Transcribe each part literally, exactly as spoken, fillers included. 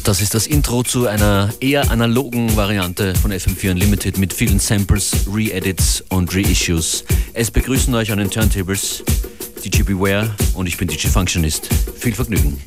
Das ist das Intro zu einer eher analogen Variante von F M vier Unlimited mit vielen Samples, Re-Edits und Reissues. Es begrüßen euch an den Turntables D J Beware und ich bin D J Functionist. Viel Vergnügen.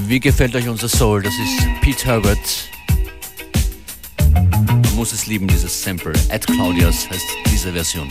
Wie gefällt euch unser Soul? Das ist Pete Herbert. Man muss es lieben, dieses Sample. Ed Claudius heißt diese Version.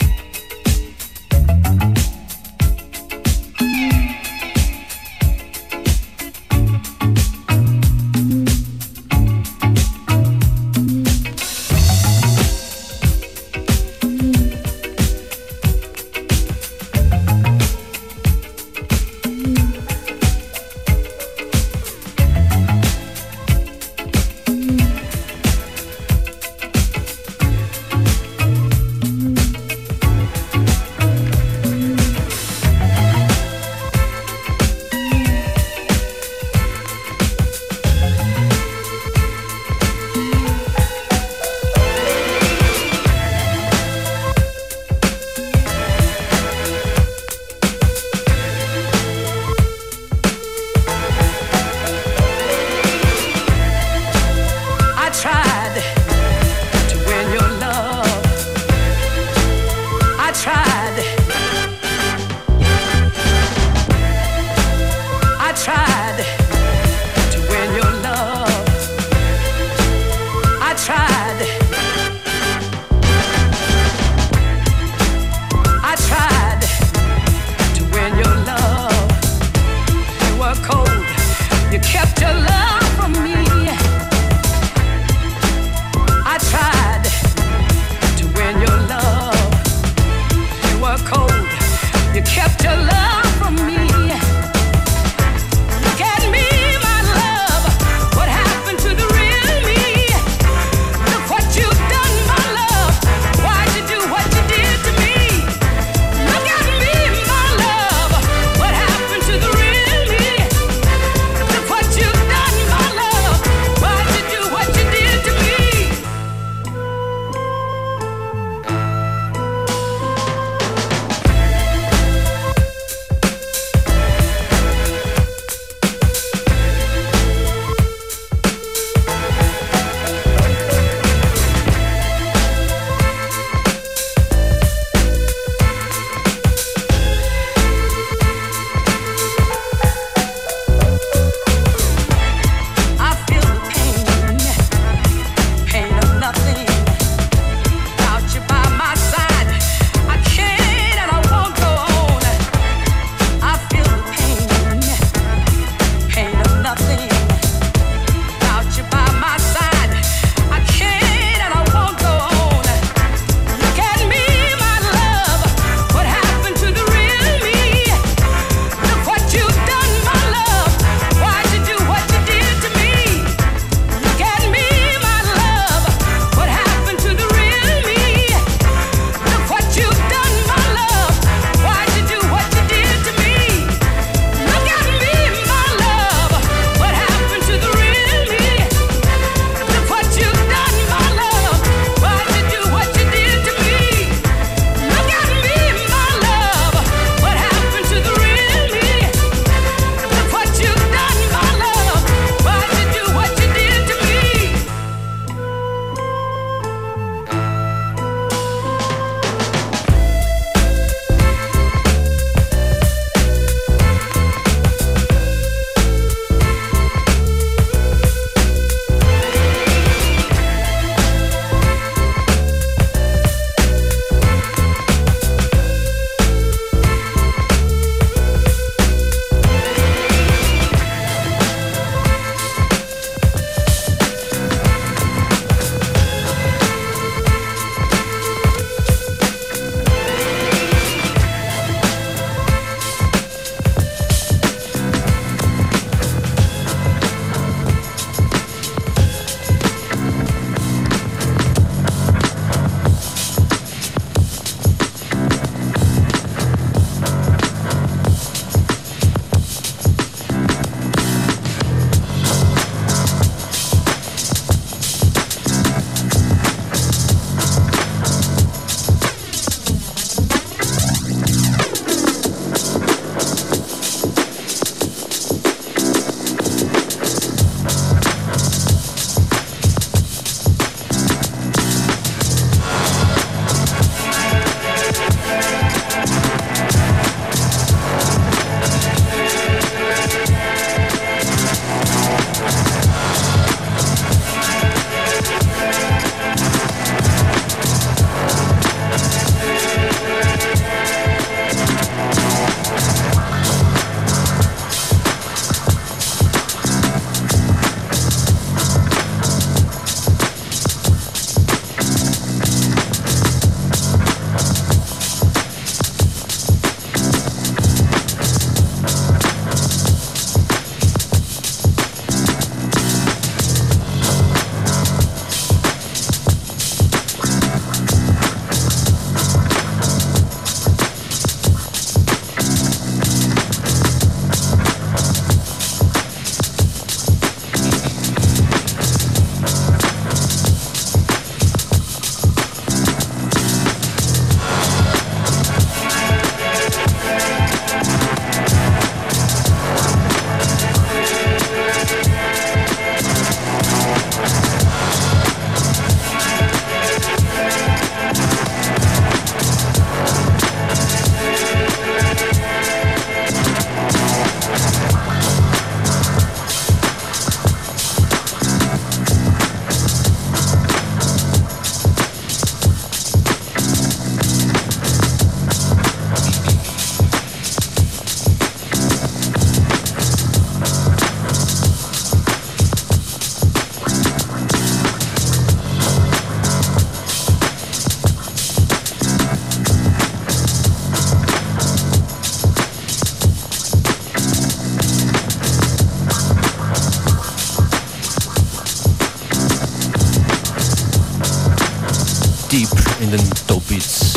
in den Dope Beats.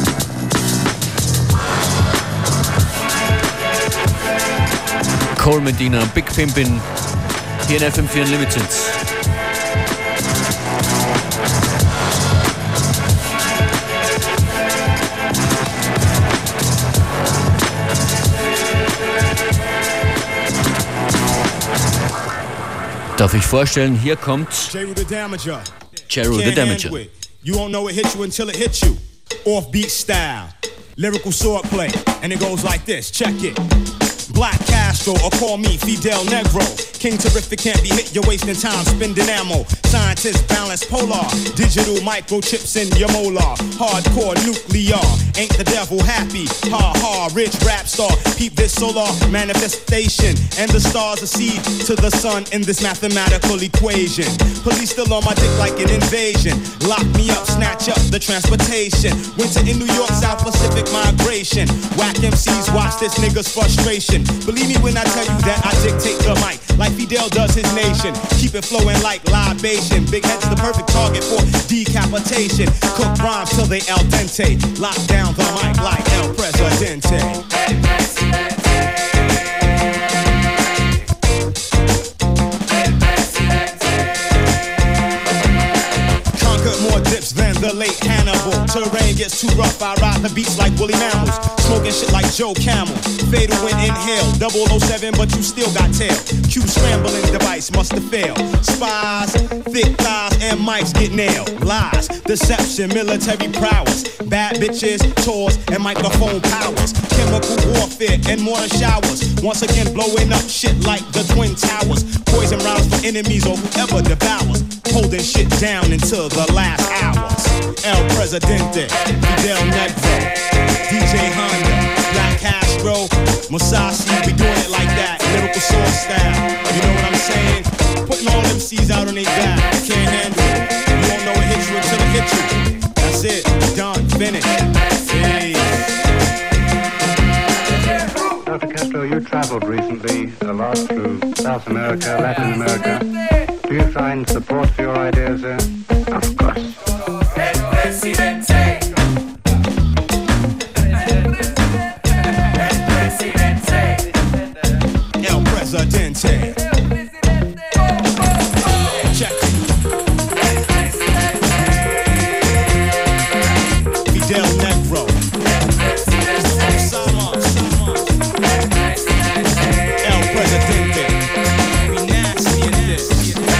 Cole Medina, Big Pimpin', hier in F M vier Unlimited. Darf ich vorstellen, hier kommt Jeru the Damager. Jeru the Damager. You won't know it hit you until it hits you. Offbeat style, lyrical swordplay, and it goes like this. Check it. Black Castro, or call me Fidel Negro. King Terrific can't be hit, you're wasting time spending ammo. Scientists balance polar, digital microchips in your molar. Hardcore nuclear, ain't the devil happy? Ha ha, rich rap star, peep this solar manifestation. And the stars are seed to the sun in this mathematical equation. Police still on my dick like an invasion. Lock me up, snatch up the transportation. Winter in New York, South Pacific migration. Whack M Cs, watch this nigga's frustration. Believe me when I tell you that I dictate the mic like Fidel does his nation. Keep it flowing like libation. Big head's the perfect target for decapitation. Cook rhymes till they al dente. Lock down the mic like El Presidente. El Presidente. El Presidente. Conquered more dips than the late Hannibal. Terrain gets too rough, I ride the beats like woolly mammals. Smoking shit like Joe Camel. Fatal when inhale, double oh seven, but you still got tail. Q scrambling device must have failed. Spies, thick thighs, and mics get nailed. Lies, deception, military prowess. Bad bitches, tours, and microphone powers. Chemical warfare and mortar showers. Once again blowing up shit like the Twin Towers. Poison rounds for enemies or whoever devours. Holding shit down until the last hours. El Presidente, Fidel Negro, D J Honda, Black Castro, Musashi, we doing it like that, lyrical sword style. You know what I'm saying? Putting all them C's out on their back, can't handle it. You won't know it hits you until it hits you. That's it, done, finished. Hey. Doctor Castro, you traveled recently a lot through South America, Latin America. Do you find support for your ideas there? Of course. El Presidente. El Presidente. Check it. Fidel Negro. El Presidente. We nasty in this.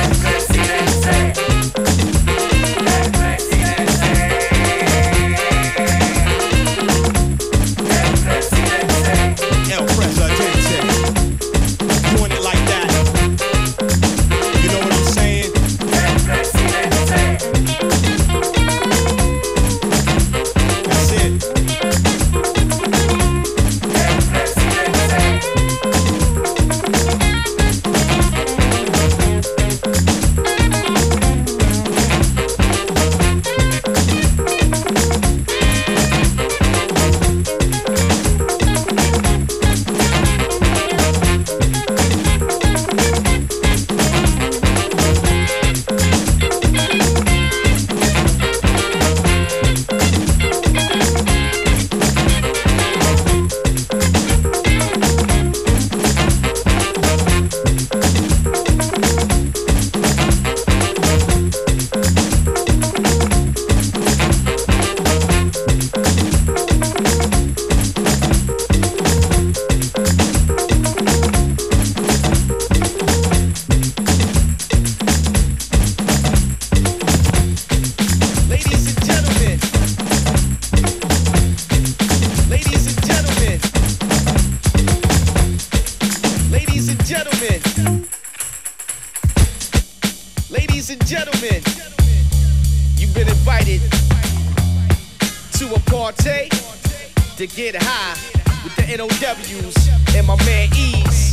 To get high with the N O Ws and my man Ease.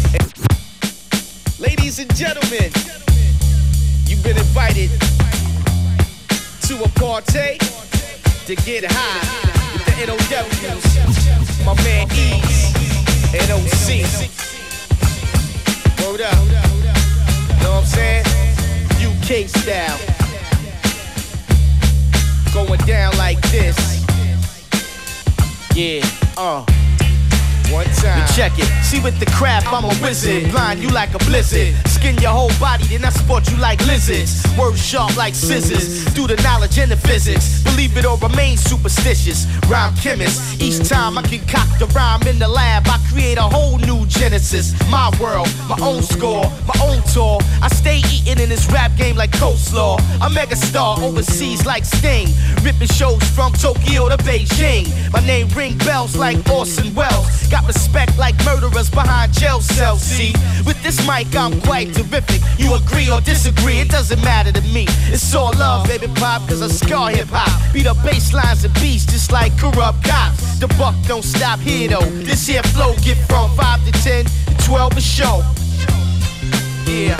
Ladies and gentlemen, you've been invited to a party to get high with the N O Ws, my man Ease, N O C. Word up, know what I'm saying? U K style. Going down like this. Yeah, uh. One time. Now check it. See with the crap, I'm a wizard. Blind you like a blizzard. Skin your whole body, then I sport you like lizards. Words sharp like scissors. Do the knowledge and the physics. Believe it or remain superstitious. Rhyme chemist. Each time I concoct a rhyme in the lab, I create a whole new genesis. My world, my own score, my own tour. I stay eating in this rap game like coleslaw. A mega star overseas like Sting. Ripping shows from Tokyo to Beijing. My name ring bells like Orson Welles. Got respect like murderers behind jail cells, see? With this mic, I'm quite terrific. You agree or disagree, it doesn't matter to me. It's all love, baby pop, cause I scar hip-hop. Beat up bass lines and beats just like corrupt cops. The buck don't stop here, though. This here flow get from five to ten to twelve a show. Yeah.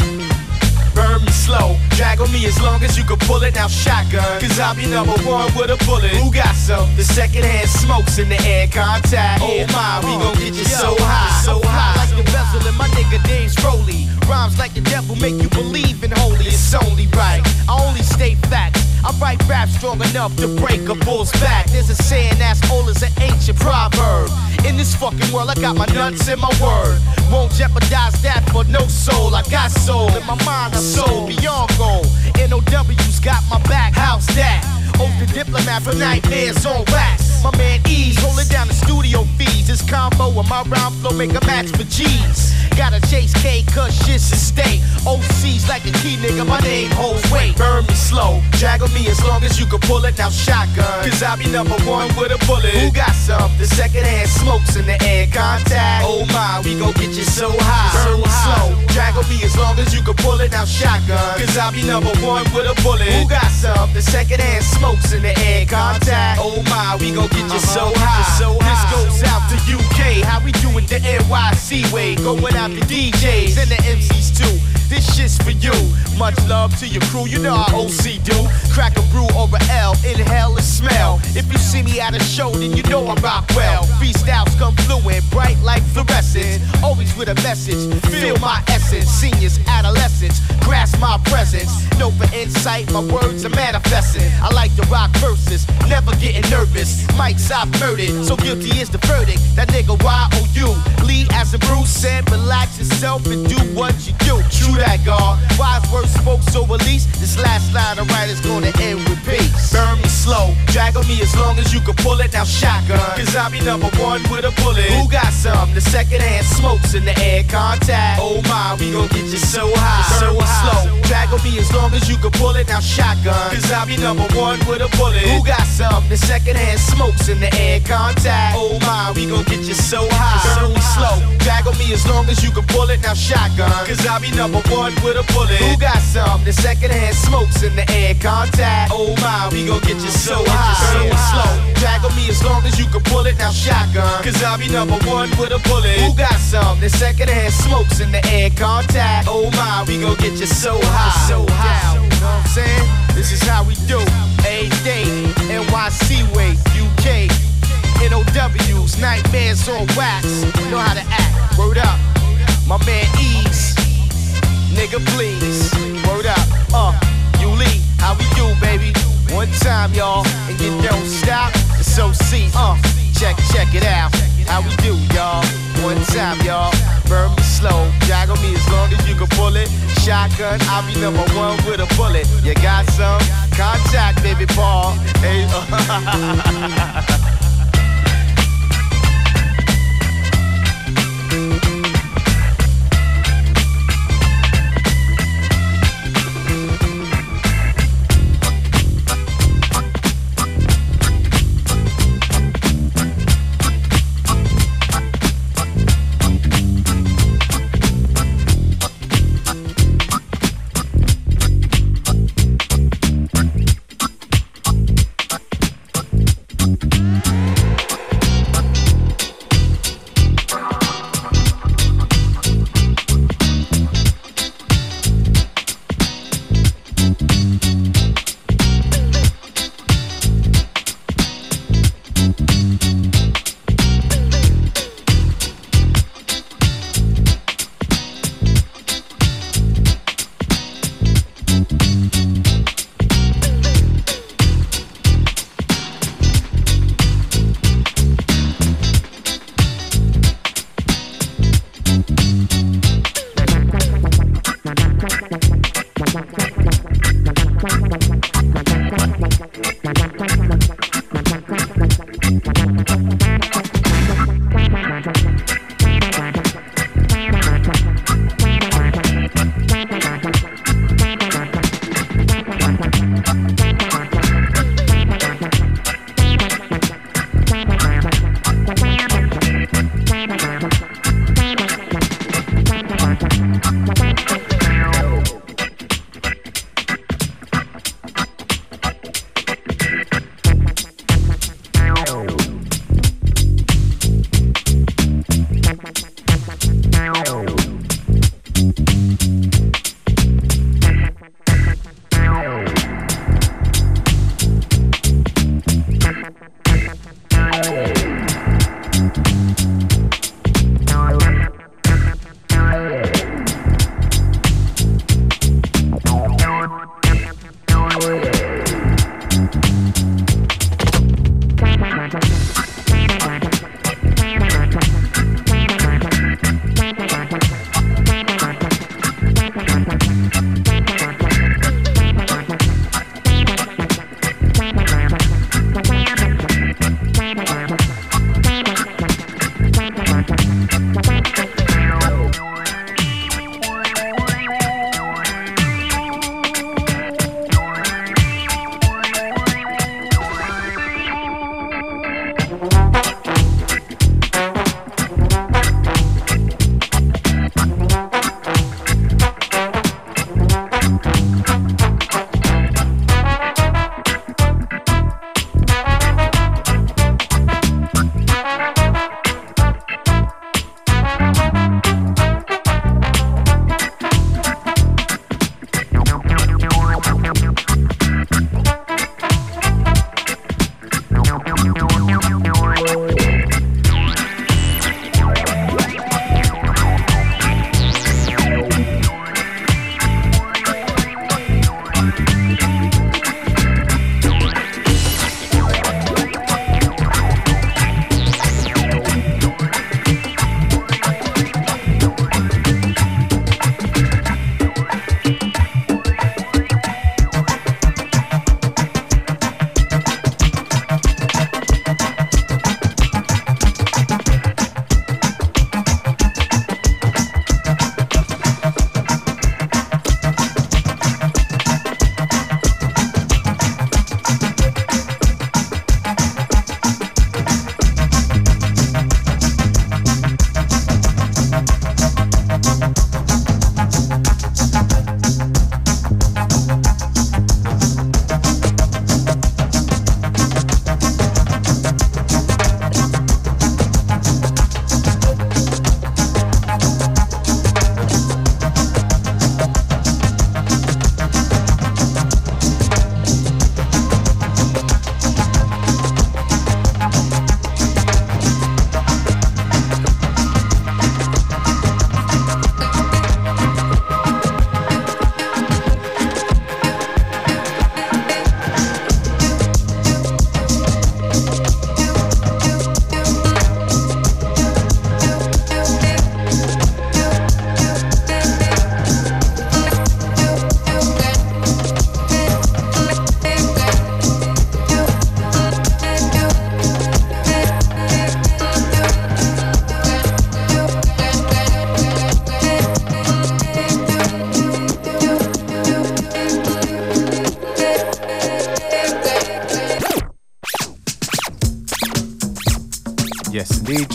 Burn me slow, drag on me as long as you can pull it. Now shotgun, cause I'll be number one with a bullet. Who got some? The second hand smokes in the air contact. Oh my, we gon' get you so high, so high. Like the bezel and my nigga Dave's Rolly. Rhymes like the devil make you believe in holy. It's only right, I only state facts. I write rap strong enough to break a bull's back. There's a saying that's old as an ancient proverb. In this fucking world, I got my nuts in my word. Won't jeopardize that for no soul. I got soul in my mind, a soul beyond goal. N O W's got my back, how's that? Oath the diplomat for nightmares on wax. My man Ease holding down the studio fees. This combo and my rhyme flow make a match for G's. Gotta chase K cause shit's a state. O C's like a key nigga, my name holds weight. Burn me slow, drag on me as long as you can pull it. Now shotgun, cause I'll be number one with a bullet. Who got some? The second hand smokes in the air contact. Oh my, we gon' get you so high. Burn me slow, drag on me as long as you can pull it. Now shotgun, cause I'll be number one with a bullet. Who got some? The second hand smokes in the air contact. Oh my, we gon' get you so high. So this goes out to U K. How we doing the N Y C way? Going out to D Js and the M Cs too. This shit's for you. Much love to your crew, you know how O C do. Crack a brew or a L, inhale and smell. If you see me at a show, then you know I rock well. Freestyles come fluent, bright like fluorescence. Always with a message, feel my essence. Seniors, adolescents, grasp my presence. Know for insight, my words are manifesting. I like to rock verses, never getting nervous. Mics I've murdered, so guilty is the verdict. That nigga Y O U, Lee as a Bruce said, relax yourself and do what you do. True that, God. Wise words spoke, so at least this last line of right is gonna end with peace. Burn me slow, drag on me as long as you can pull it. Now shotgun, cause I'll be number one with a bullet. Who got some? The second hand smokes in the air contact. Oh my, we gon' get you so high. Burn me slow, drag on me as long as you can pull it. Now shotgun, cause I'll be number one with a bullet. Who got some? The second hand smokes in the air contact. Oh my, we gon' get you so high. Burn me slow, drag on me as long as you can pull it. Now shotgun, cause I'll be number one with a bullet. Who got some? The second hand smokes in the air contact. Oh my, we gon' get you so high. Burn me slow, drag on me as long as you can pull it. Now shotgun, cause I'll be number one with a bullet. Who got some? The second hand smokes in the air contact. Oh my, we gon' get you so high. So high. You know what I'm saying? This is how we do. A day, N Y C way, U K. N O W's, nightmares on wax. Know how to act, word up. My man Ease, nigga please, word up. Uh, you Lee, how we do, baby? One time, y'all, and you don't stop. It's O C, uh, check, check it out. How we do, y'all? One time, y'all. Burn me slow, drag on me as long as you can pull it. Shotgun, I'll be number one with a bullet. You got some? Contact, baby Paul. Hey, uh,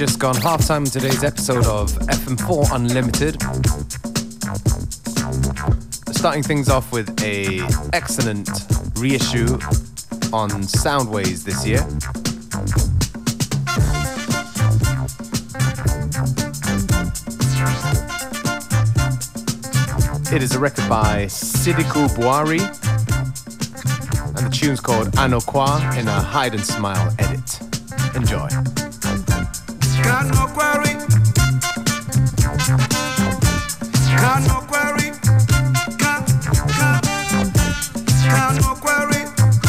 just gone half-time in today's episode of F M four Unlimited. Starting things off with a excellent reissue on Soundways this year. It is a record by Sidiku Buari, and the tune's called Anokwa in a Hide and Smile edit. Enjoy. Kanokwari, Kanokwari, Ka, Ka, Kanokwari.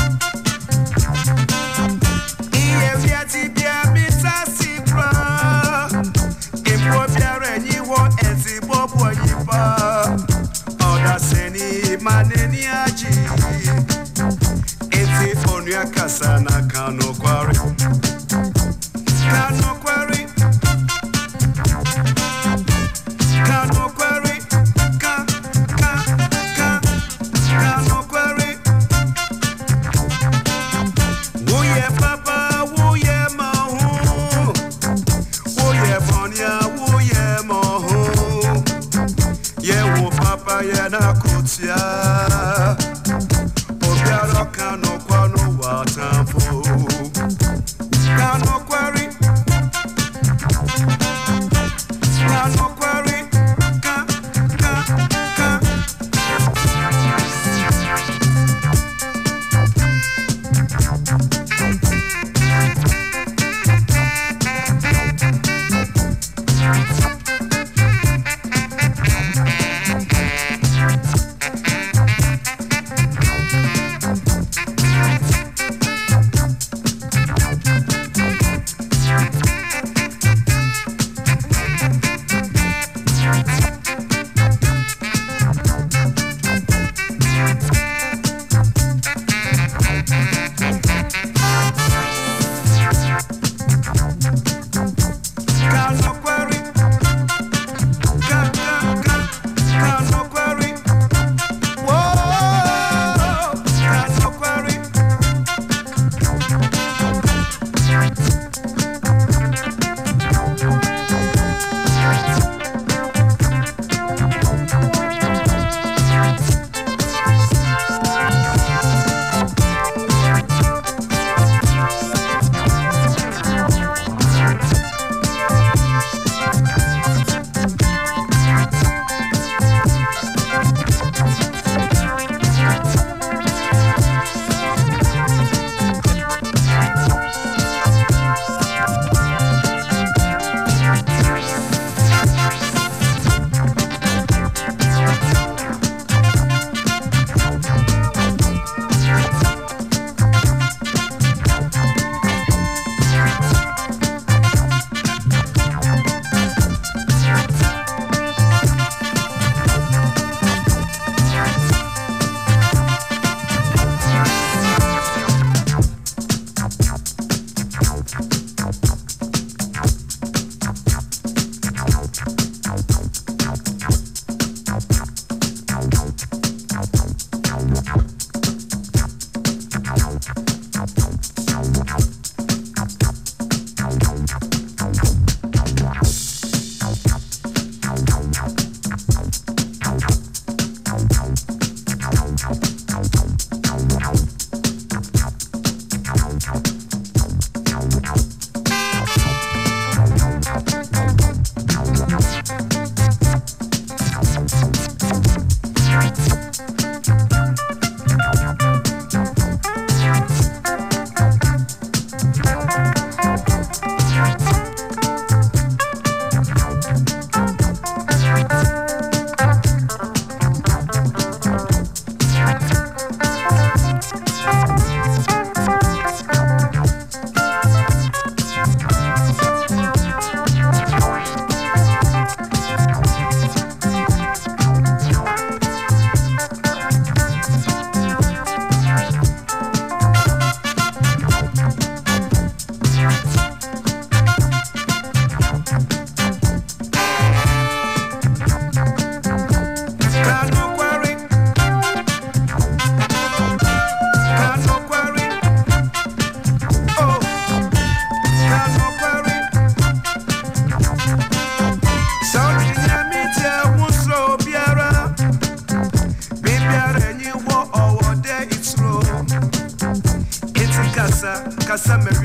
Iye viati bia misa sipra, impo biare niwo ezi bobo yipa. Oda seni maneni aji, eti onuya kasana Kanokwari. Kanokwari, Kanokwari, Ka, Ka, Ka, Kanokwari. Wuye papa, wuye mahu, wuye bonya, wuye mahu. Ye wo papa ye na kutia, obiaro Kanokwano watampo. Kanokwari. Kanokwari, Ka, Ka, Ka.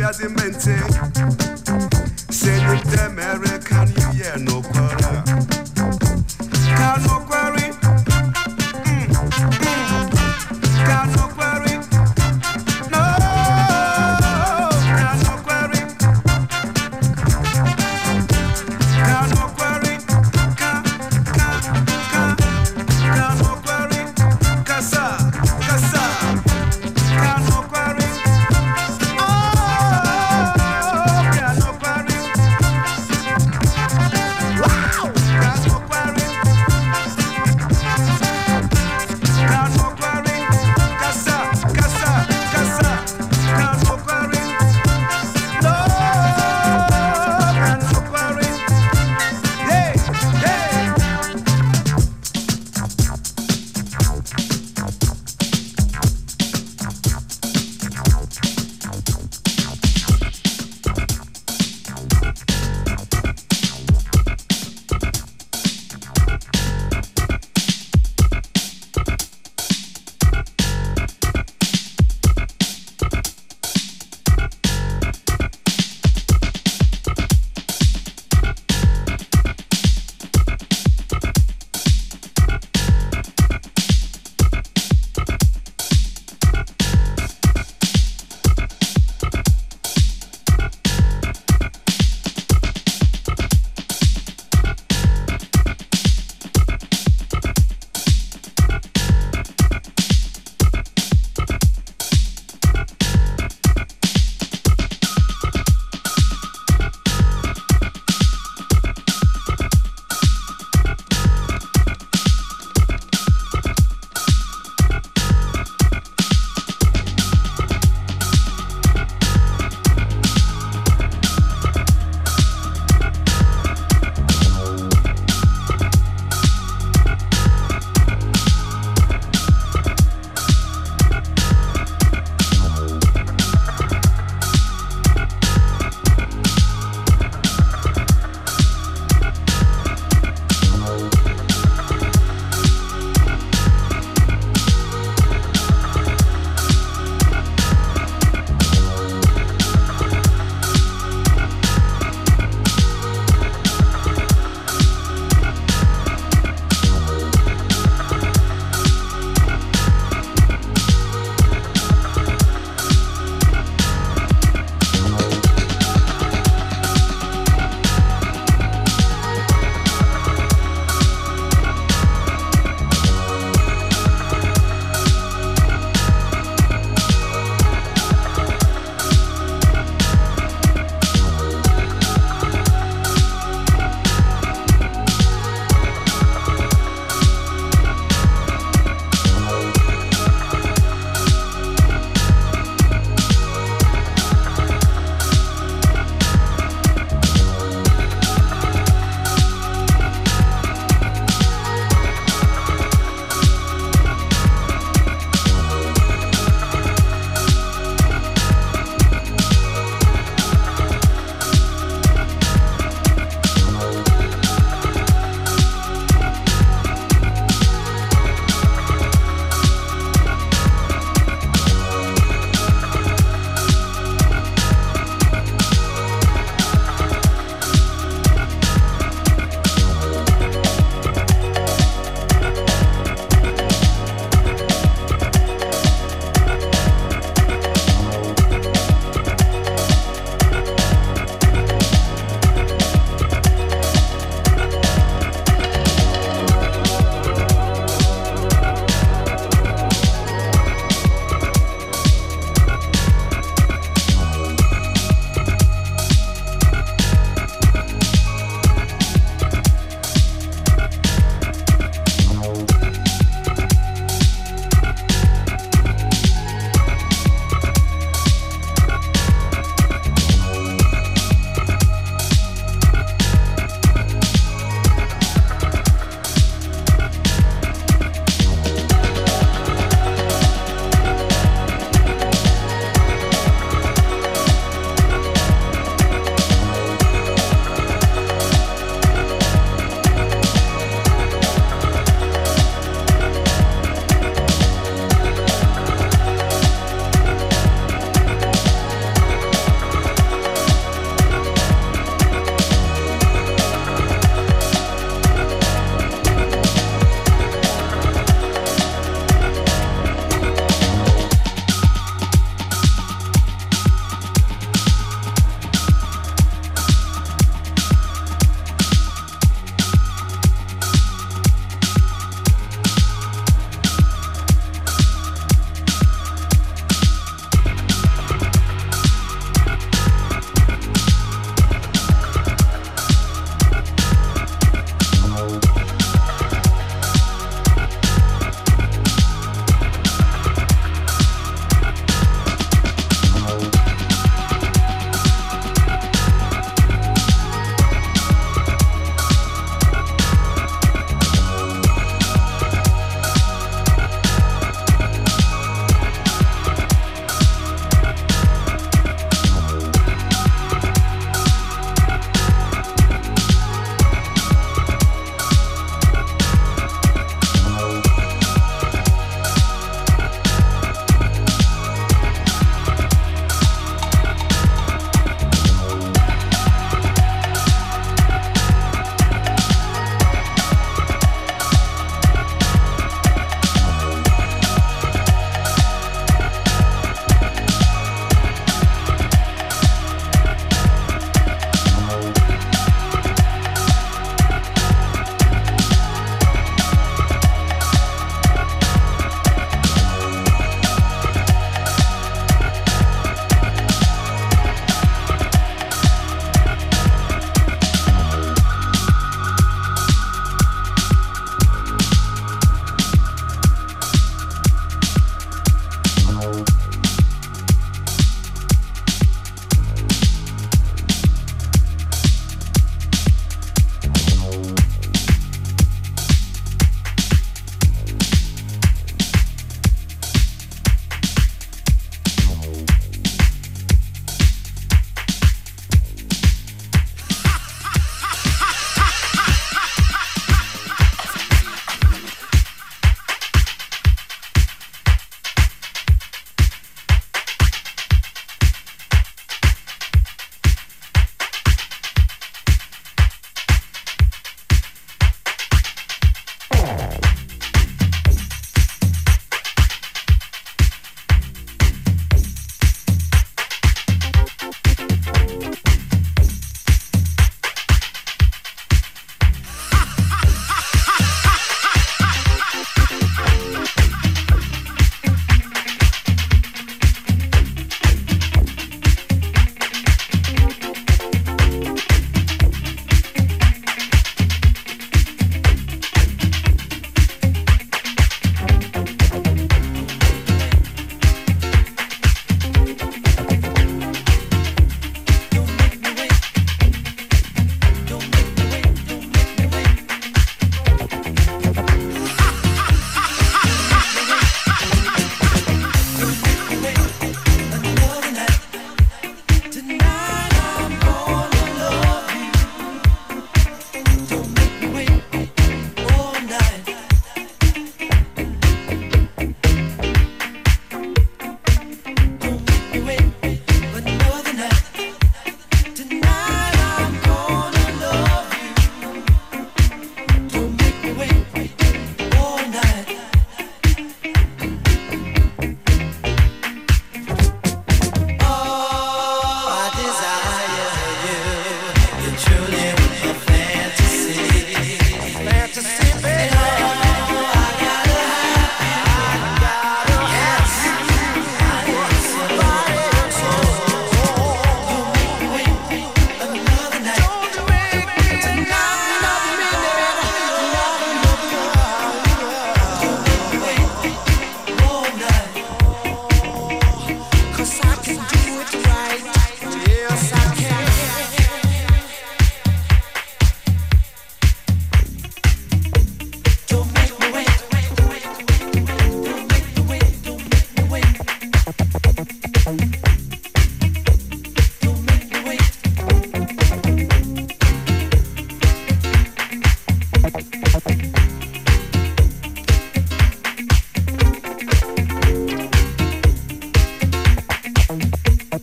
Yazimente. Send the American year no quarter. Can no quarry. Can no quarry. No. Can no quarry. Can no quarry. Can can can. Can no quarry. Kasa kasa. Can no quarry. Oh.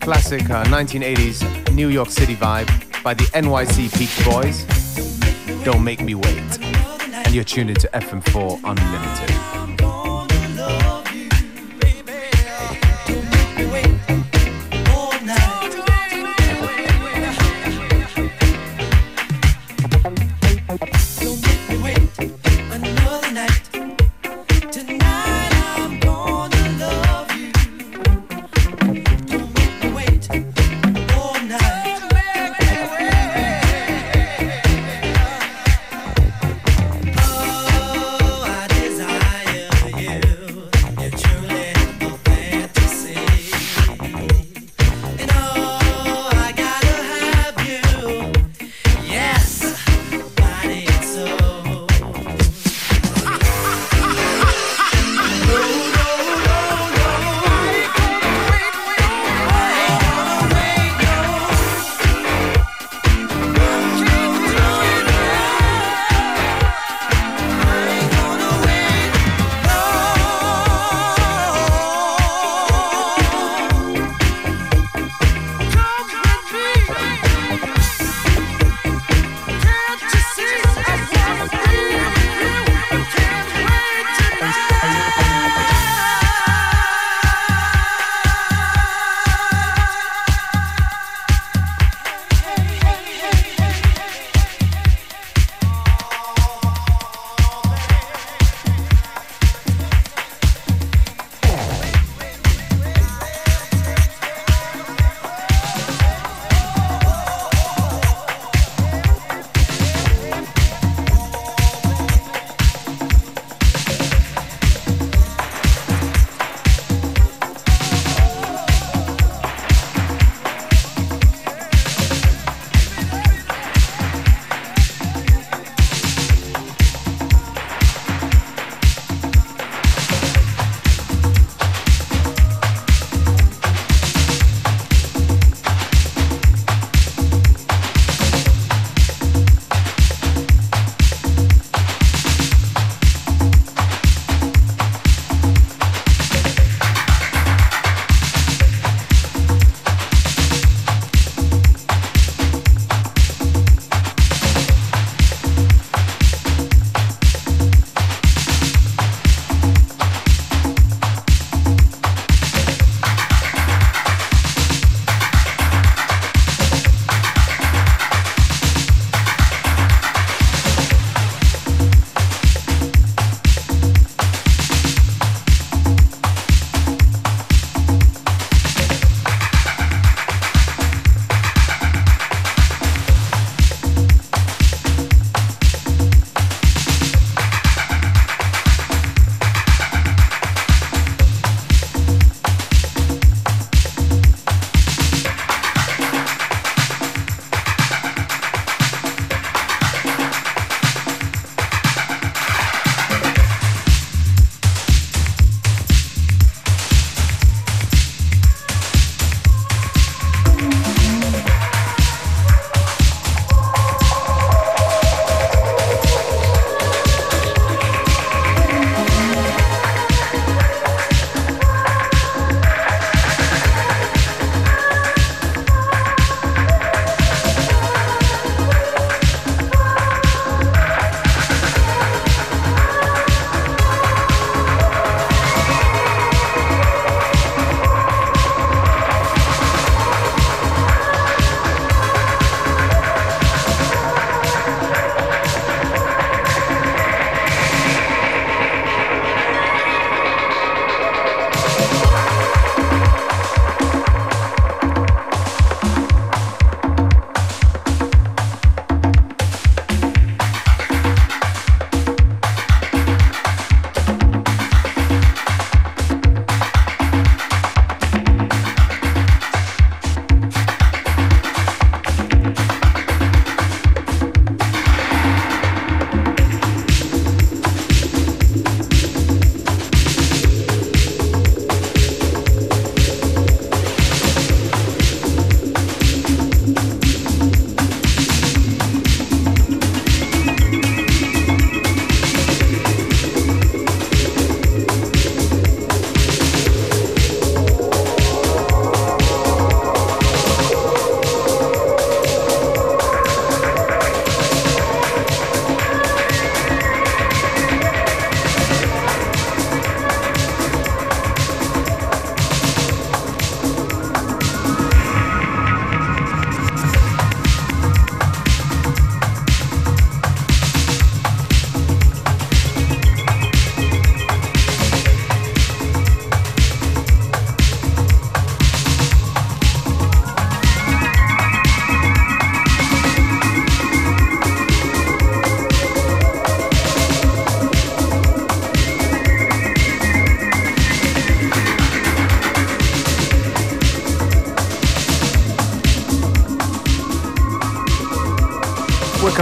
classic uh, nineteen eighties New York City vibe by the N Y C Beach Boys. Don't Make Me Wait. And you're tuned into F M four Unlimited. Oh, I desire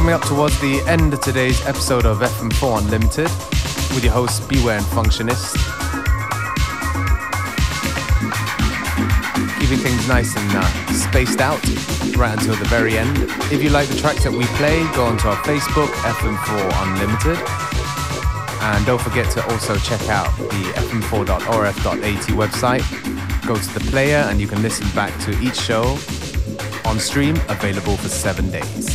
coming up towards the end of today's episode of F M four Unlimited with your hosts Beware and Functionist. Keeping things nice and uh, spaced out right until the very end. If you like the tracks that we play, go onto our Facebook, F M four Unlimited. And don't forget to also check out the f m four dot o r f dot a t website. Go to the player and you can listen back to each show on stream, available for seven days.